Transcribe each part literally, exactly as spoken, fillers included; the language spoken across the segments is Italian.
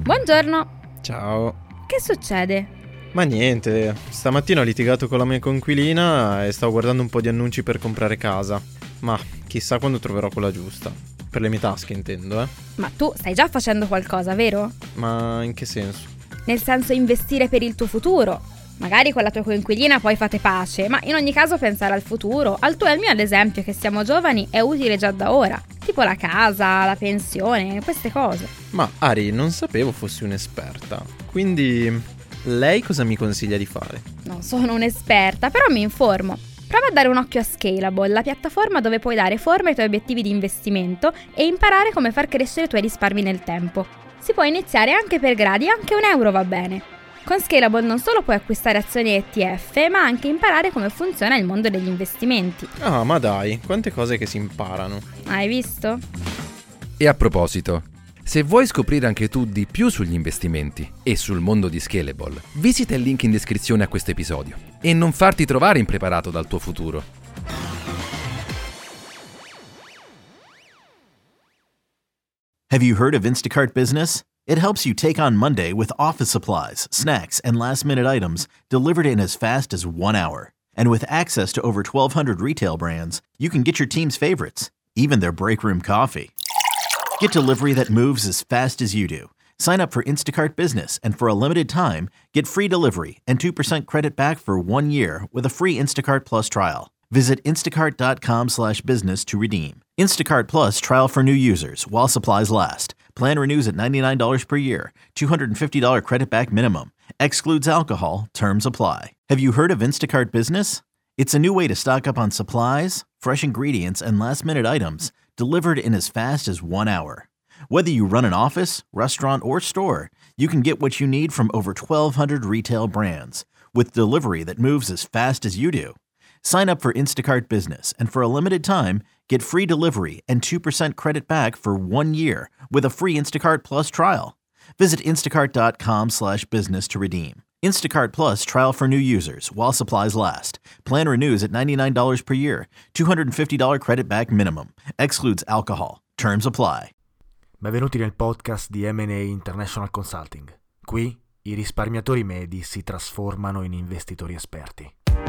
Buongiorno. Ciao. Che succede? Ma niente, stamattina ho litigato con la mia coinquilina e stavo guardando un po' di annunci per comprare casa. Ma chissà quando troverò quella giusta. Per le mie tasche intendo, eh. Ma tu stai già facendo qualcosa, vero? Ma in che senso? Nel senso investire per il tuo futuro. Magari con la tua coinquilina poi fate pace, ma in ogni caso pensare al futuro, al tuo e al mio ad esempio, che siamo giovani, è utile già da ora. Tipo la casa, la pensione, queste cose. Ma Ari, non sapevo fossi un'esperta. Quindi lei cosa mi consiglia di fare? Non sono un'esperta, però mi informo. Prova a dare un occhio a Scalable, la piattaforma dove puoi dare forma ai tuoi obiettivi di investimento e imparare come far crescere i tuoi risparmi nel tempo. Si può iniziare anche per gradi, anche un euro va bene. Con Scalable non solo puoi acquistare azioni E T F, ma anche imparare come funziona il mondo degli investimenti. Ah, ma dai, quante cose che si imparano. Hai visto? E a proposito, se vuoi scoprire anche tu di più sugli investimenti e sul mondo di Scalable, visita il link in descrizione a questo episodio e non farti trovare impreparato dal tuo futuro. Have you heard of Instacart Business? It helps you take on Monday with office supplies, snacks, and last-minute items delivered in as fast as one hour. And with access to over twelve hundred retail brands, you can get your team's favorites, even their break room coffee. Get delivery that moves as fast as you do. Sign up for Instacart Business, and for a limited time, get free delivery and two percent credit back for one year with a free Instacart Plus trial. Visit instacart.com slash business to redeem. Instacart Plus trial for new users while supplies last. Plan renews at ninety-nine dollars per year. two hundred fifty dollars credit back minimum. Excludes alcohol. Terms apply. Have you heard of Instacart Business? It's a new way to stock up on supplies, fresh ingredients, and last-minute items delivered in as fast as one hour. Whether you run an office, restaurant, or store, you can get what you need from over twelve hundred retail brands with delivery that moves as fast as you do. Sign up for Instacart Business, and for a limited time, get free delivery and two percent credit back for one year with a free Instacart Plus trial. Visit instacart.com slash business to redeem. Instacart Plus trial for new users while supplies last. Plan renews at ninety-nine dollars per year. two hundred fifty dollars credit back minimum. Excludes alcohol. Terms apply. Benvenuti nel podcast di M and A International Consulting. Qui i risparmiatori medi si trasformano in investitori esperti.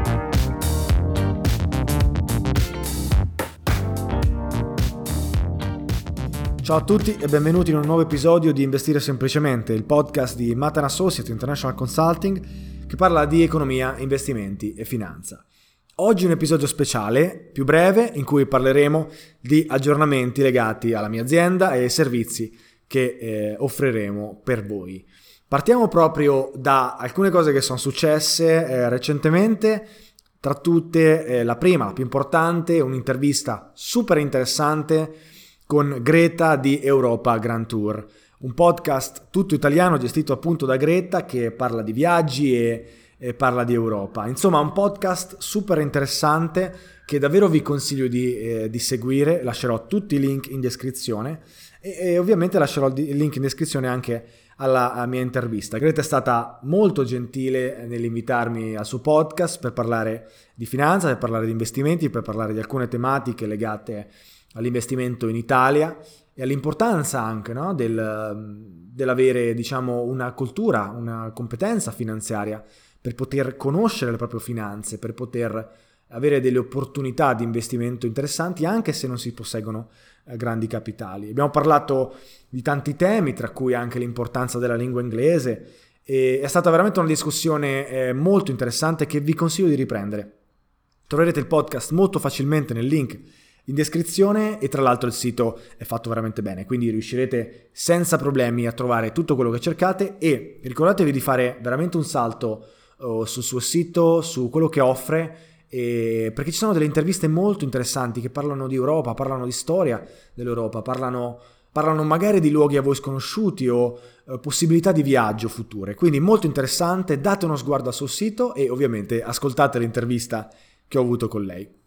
Ciao a tutti e benvenuti in un nuovo episodio di Investire Semplicemente, il podcast di Matt and Associates International Consulting che parla di economia, investimenti e finanza. Oggi un episodio speciale, più breve, in cui parleremo di aggiornamenti legati alla mia azienda e ai servizi che eh, offriremo per voi. Partiamo proprio da alcune cose che sono successe eh, recentemente, tra tutte eh, la prima, la più importante, un'intervista super interessante con Greta di Europa Grand Tour, un podcast tutto italiano gestito appunto da Greta che parla di viaggi e, e parla di Europa. Insomma, un podcast super interessante che davvero vi consiglio di, eh, di seguire. Lascerò tutti i link in descrizione e, e ovviamente lascerò il link in descrizione anche alla, alla mia intervista. Greta è stata molto gentile nell'invitarmi al suo podcast per parlare di finanza, per parlare di investimenti, per parlare di alcune tematiche legate all'investimento in Italia e all'importanza anche, no, del, dell'avere, diciamo, una cultura, una competenza finanziaria per poter conoscere le proprie finanze, per poter avere delle opportunità di investimento interessanti anche se non si posseggono eh, grandi capitali. Abbiamo parlato di tanti temi, tra cui anche l'importanza della lingua inglese, e è stata veramente una discussione eh, molto interessante che vi consiglio di riprendere. Troverete il podcast molto facilmente nel link in descrizione e tra l'altro il sito è fatto veramente bene, quindi riuscirete senza problemi a trovare tutto quello che cercate e ricordatevi di fare veramente un salto uh, sul suo sito, su quello che offre, e perché ci sono delle interviste molto interessanti che parlano di Europa, parlano di storia dell'Europa, parlano, parlano magari di luoghi a voi sconosciuti o uh, possibilità di viaggio future, quindi molto interessante. Date uno sguardo al suo sito e ovviamente ascoltate l'intervista che ho avuto con lei.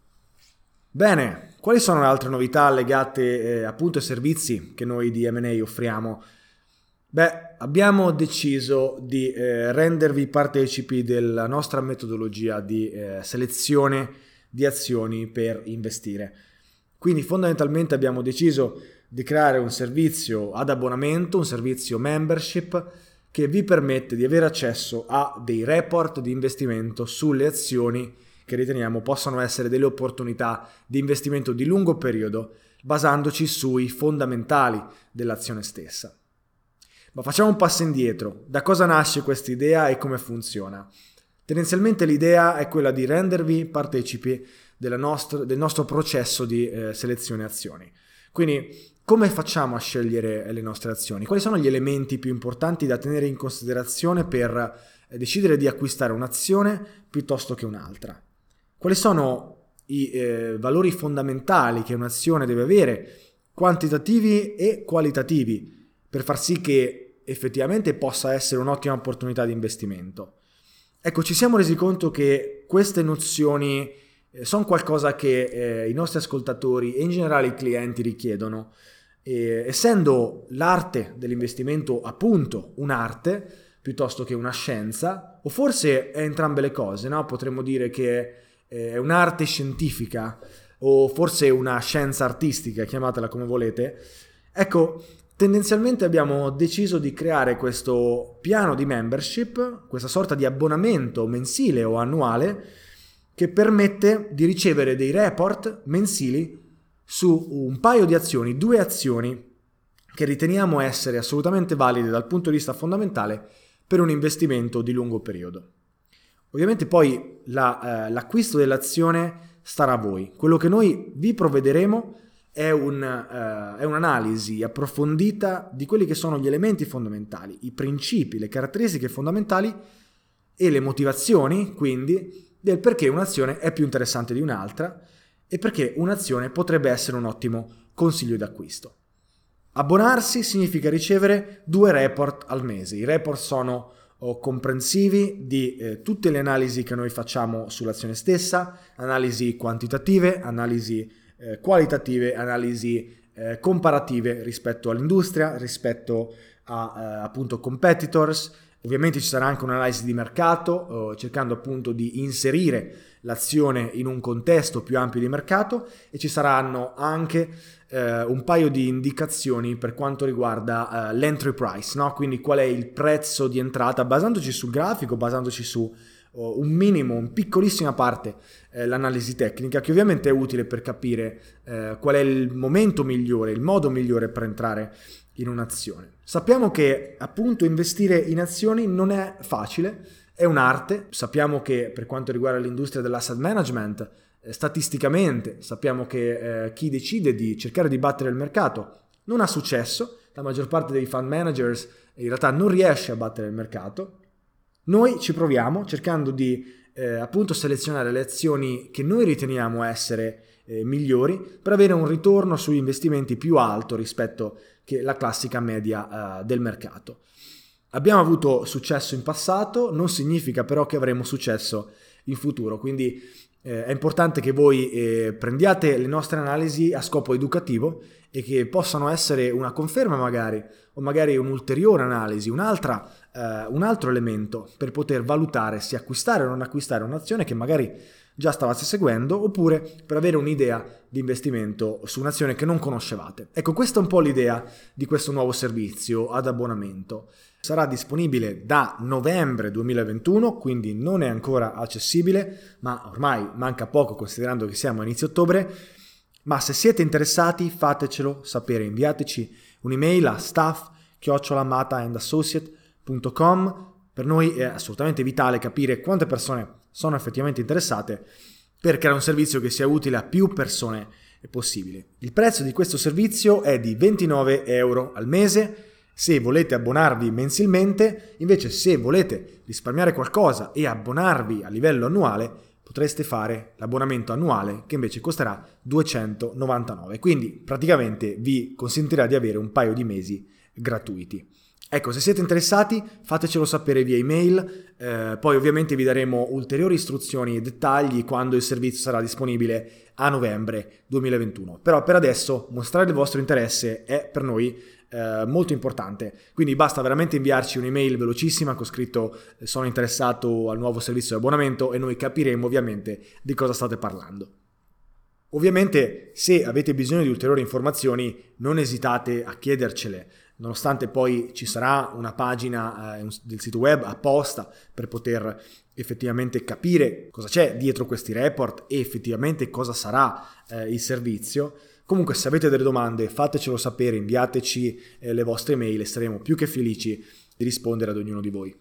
Bene, quali sono le altre novità legate eh, appunto ai servizi che noi di M and A offriamo? Beh, abbiamo deciso di eh, rendervi partecipi della nostra metodologia di eh, selezione di azioni per investire. Quindi fondamentalmente abbiamo deciso di creare un servizio ad abbonamento, un servizio membership che vi permette di avere accesso a dei report di investimento sulle azioni che riteniamo possano essere delle opportunità di investimento di lungo periodo, basandoci sui fondamentali dell'azione stessa. Ma facciamo un passo indietro. Da cosa nasce questa idea e come funziona? Tendenzialmente l'idea è quella di rendervi partecipi della nostra, del nostro processo di eh, selezione azioni. Quindi, come facciamo a scegliere le nostre azioni? Quali sono gli elementi più importanti da tenere in considerazione per eh, decidere di acquistare un'azione piuttosto che un'altra? Quali sono i eh, valori fondamentali che un'azione deve avere, quantitativi e qualitativi, per far sì che effettivamente possa essere un'ottima opportunità di investimento? Ecco, ci siamo resi conto che queste nozioni eh, sono qualcosa che eh, i nostri ascoltatori e in generale i clienti richiedono. E, essendo l'arte dell'investimento appunto un'arte piuttosto che una scienza, o forse è entrambe le cose, no? Potremmo dire che è un'arte scientifica o forse una scienza artistica, chiamatela come volete. Ecco, tendenzialmente abbiamo deciso di creare questo piano di membership, questa sorta di abbonamento mensile o annuale che permette di ricevere dei report mensili su un paio di azioni, due azioni che riteniamo essere assolutamente valide dal punto di vista fondamentale per un investimento di lungo periodo. Ovviamente poi la, eh, l'acquisto dell'azione starà a voi. Quello che noi vi provvederemo è, un, eh, è un'analisi approfondita di quelli che sono gli elementi fondamentali, i principi, le caratteristiche fondamentali e le motivazioni, quindi, del perché un'azione è più interessante di un'altra e perché un'azione potrebbe essere un ottimo consiglio d'acquisto. Abbonarsi significa ricevere due report al mese. I report sono o comprensivi di eh, tutte le analisi che noi facciamo sull'azione stessa, analisi quantitative, analisi eh, qualitative, analisi eh, comparative rispetto all'industria, rispetto a eh, appunto competitors. Ovviamente ci sarà anche un'analisi di mercato, eh, cercando appunto di inserire l'azione in un contesto più ampio di mercato, e ci saranno anche eh, un paio di indicazioni per quanto riguarda eh, l'entry price, no? Quindi qual è il prezzo di entrata, basandoci sul grafico, basandoci su oh, un minimo, un piccolissima parte eh, l'analisi tecnica, che ovviamente è utile per capire eh, qual è il momento migliore, il modo migliore per entrare in un'azione. Sappiamo che appunto investire in azioni non è facile, è un'arte. Sappiamo che per quanto riguarda l'industria dell'asset management, eh, statisticamente sappiamo che eh, chi decide di cercare di battere il mercato non ha successo. La maggior parte dei fund managers in realtà non riesce a battere il mercato. Noi ci proviamo cercando di eh, appunto selezionare le azioni che noi riteniamo essere eh, migliori per avere un ritorno sugli investimenti più alto rispetto che la classica media uh, del mercato. Abbiamo avuto successo in passato, non significa però che avremo successo in futuro, quindi eh, è importante che voi eh, prendiate le nostre analisi a scopo educativo e che possano essere una conferma magari, o magari un'ulteriore analisi, un'altra, eh, un altro elemento per poter valutare se acquistare o non acquistare un'azione che magari già stavate seguendo, oppure per avere un'idea di investimento su un'azione che non conoscevate. Ecco, questa è un po' l'idea di questo nuovo servizio ad abbonamento. Sarà disponibile da novembre duemilaventuno, quindi non è ancora accessibile, ma ormai manca poco considerando che siamo a inizio ottobre. Ma se siete interessati, fatecelo sapere, inviateci un'email a staff chiocciola mata and associate punto com. Per noi è assolutamente vitale capire quante persone sono effettivamente interessate per creare un servizio che sia utile a più persone possibile. Il prezzo di questo servizio è di ventinove euro al mese se volete abbonarvi mensilmente. Invece, se volete risparmiare qualcosa e abbonarvi a livello annuale, potreste fare l'abbonamento annuale, che invece costerà duecentonovantanove, quindi praticamente vi consentirà di avere un paio di mesi gratuiti. Ecco, se siete interessati fatecelo sapere via email, eh, poi ovviamente vi daremo ulteriori istruzioni e dettagli quando il servizio sarà disponibile a novembre duemilaventuno. Però per adesso mostrare il vostro interesse è per noi eh, molto importante, quindi basta veramente inviarci un'email velocissima con scritto eh, sono interessato al nuovo servizio di abbonamento e noi capiremo ovviamente di cosa state parlando. Ovviamente, se avete bisogno di ulteriori informazioni, non esitate a chiedercele, nonostante poi ci sarà una pagina eh, del sito web apposta per poter effettivamente capire cosa c'è dietro questi report e effettivamente cosa sarà eh, il servizio. Comunque, se avete delle domande, fatecelo sapere, inviateci eh, le vostre mail e saremo più che felici di rispondere ad ognuno di voi.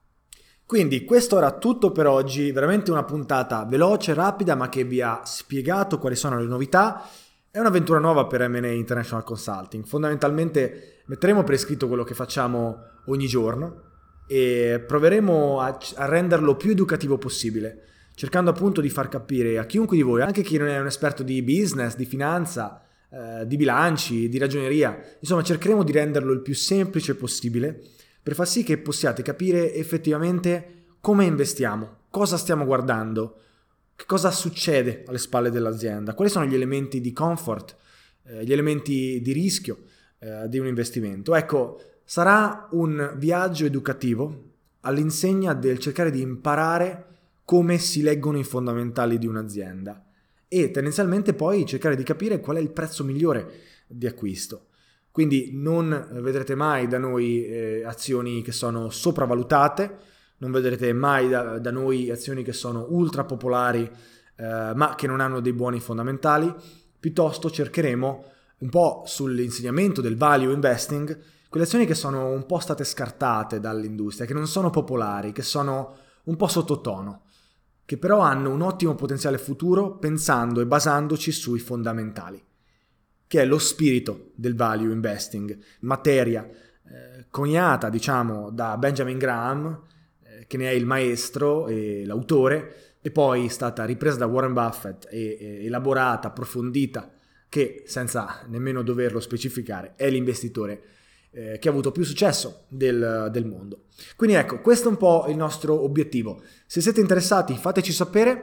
Quindi questo era tutto per oggi, veramente una puntata veloce, rapida, ma che vi ha spiegato quali sono le novità. È un'avventura nuova per M and A International Consulting. Fondamentalmente metteremo per iscritto quello che facciamo ogni giorno e proveremo a, a renderlo più educativo possibile, cercando appunto di far capire a chiunque di voi, anche chi non è un esperto di business, di finanza, eh, di bilanci, di ragioneria, insomma cercheremo di renderlo il più semplice possibile per far sì che possiate capire effettivamente come investiamo, cosa stiamo guardando, che cosa succede alle spalle dell'azienda, quali sono gli elementi di comfort, eh, gli elementi di rischio eh, di un investimento. Ecco, sarà un viaggio educativo all'insegna del cercare di imparare come si leggono i fondamentali di un'azienda e tendenzialmente poi cercare di capire qual è il prezzo migliore di acquisto. Quindi non vedrete mai da noi eh, azioni che sono sopravvalutate, non vedrete mai da, da noi azioni che sono ultra popolari eh, ma che non hanno dei buoni fondamentali. Piuttosto cercheremo un po' sull'insegnamento del value investing quelle azioni che sono un po' state scartate dall'industria, che non sono popolari, che sono un po' sottotono, che però hanno un ottimo potenziale futuro pensando e basandoci sui fondamentali, che è lo spirito del value investing, materia eh, coniata diciamo da Benjamin Graham, eh, che ne è il maestro e l'autore, e poi è stata ripresa da Warren Buffett e, e elaborata, approfondita, che senza nemmeno doverlo specificare è l'investitore eh, che ha avuto più successo del, del mondo. Quindi ecco, questo è un po' il nostro obiettivo. Se siete interessati fateci sapere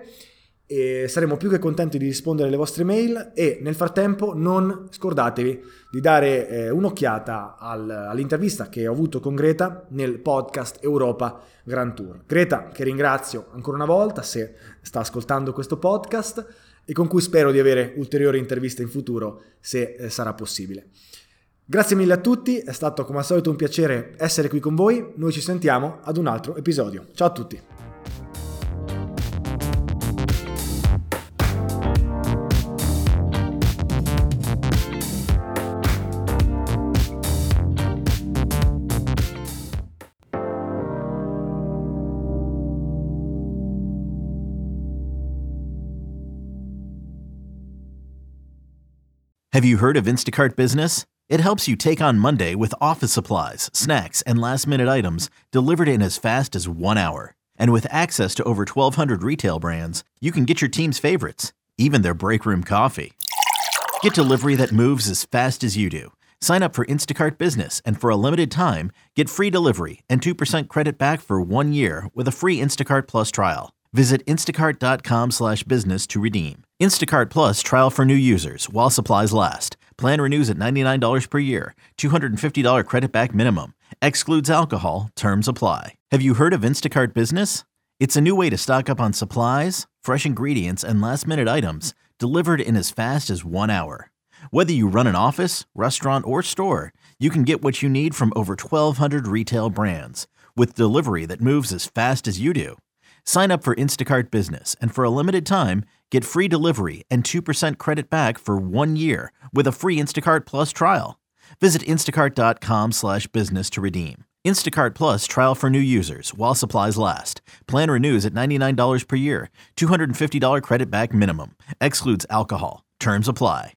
e saremo più che contenti di rispondere alle vostre mail, e nel frattempo non scordatevi di dare eh, un'occhiata al, all'intervista che ho avuto con Greta nel podcast Europa Grand Tour. Greta, che ringrazio ancora una volta se sta ascoltando questo podcast e con cui spero di avere ulteriori interviste in futuro se eh, sarà possibile. Grazie mille a tutti, è stato come al solito un piacere essere qui con voi. Noi ci sentiamo ad un altro episodio. Ciao a tutti. Have you heard of Instacart Business? It helps you take on Monday with office supplies, snacks, and last-minute items delivered in as fast as one hour. And with access to over twelve hundred retail brands, you can get your team's favorites, even their break room coffee. Get delivery that moves as fast as you do. Sign up for Instacart Business, and for a limited time, get free delivery and two percent credit back for one year with a free Instacart Plus trial. Visit instacart.com slash business to redeem. Instacart Plus trial for new users while supplies last. Plan renews at ninety-nine dollars per year. two hundred fifty dollars credit back minimum. Excludes alcohol. Terms apply. Have you heard of Instacart Business? It's a new way to stock up on supplies, fresh ingredients, and last-minute items delivered in as fast as one hour. Whether you run an office, restaurant, or store, you can get what you need from over twelve hundred retail brands with delivery that moves as fast as you do. Sign up for Instacart Business, and for a limited time, get free delivery and two percent credit back for one year with a free Instacart Plus trial. Visit instacart.com slash business to redeem. Instacart Plus trial for new users while supplies last. Plan renews at ninety-nine dollars per year. two hundred fifty dollars credit back minimum. Excludes alcohol. Terms apply.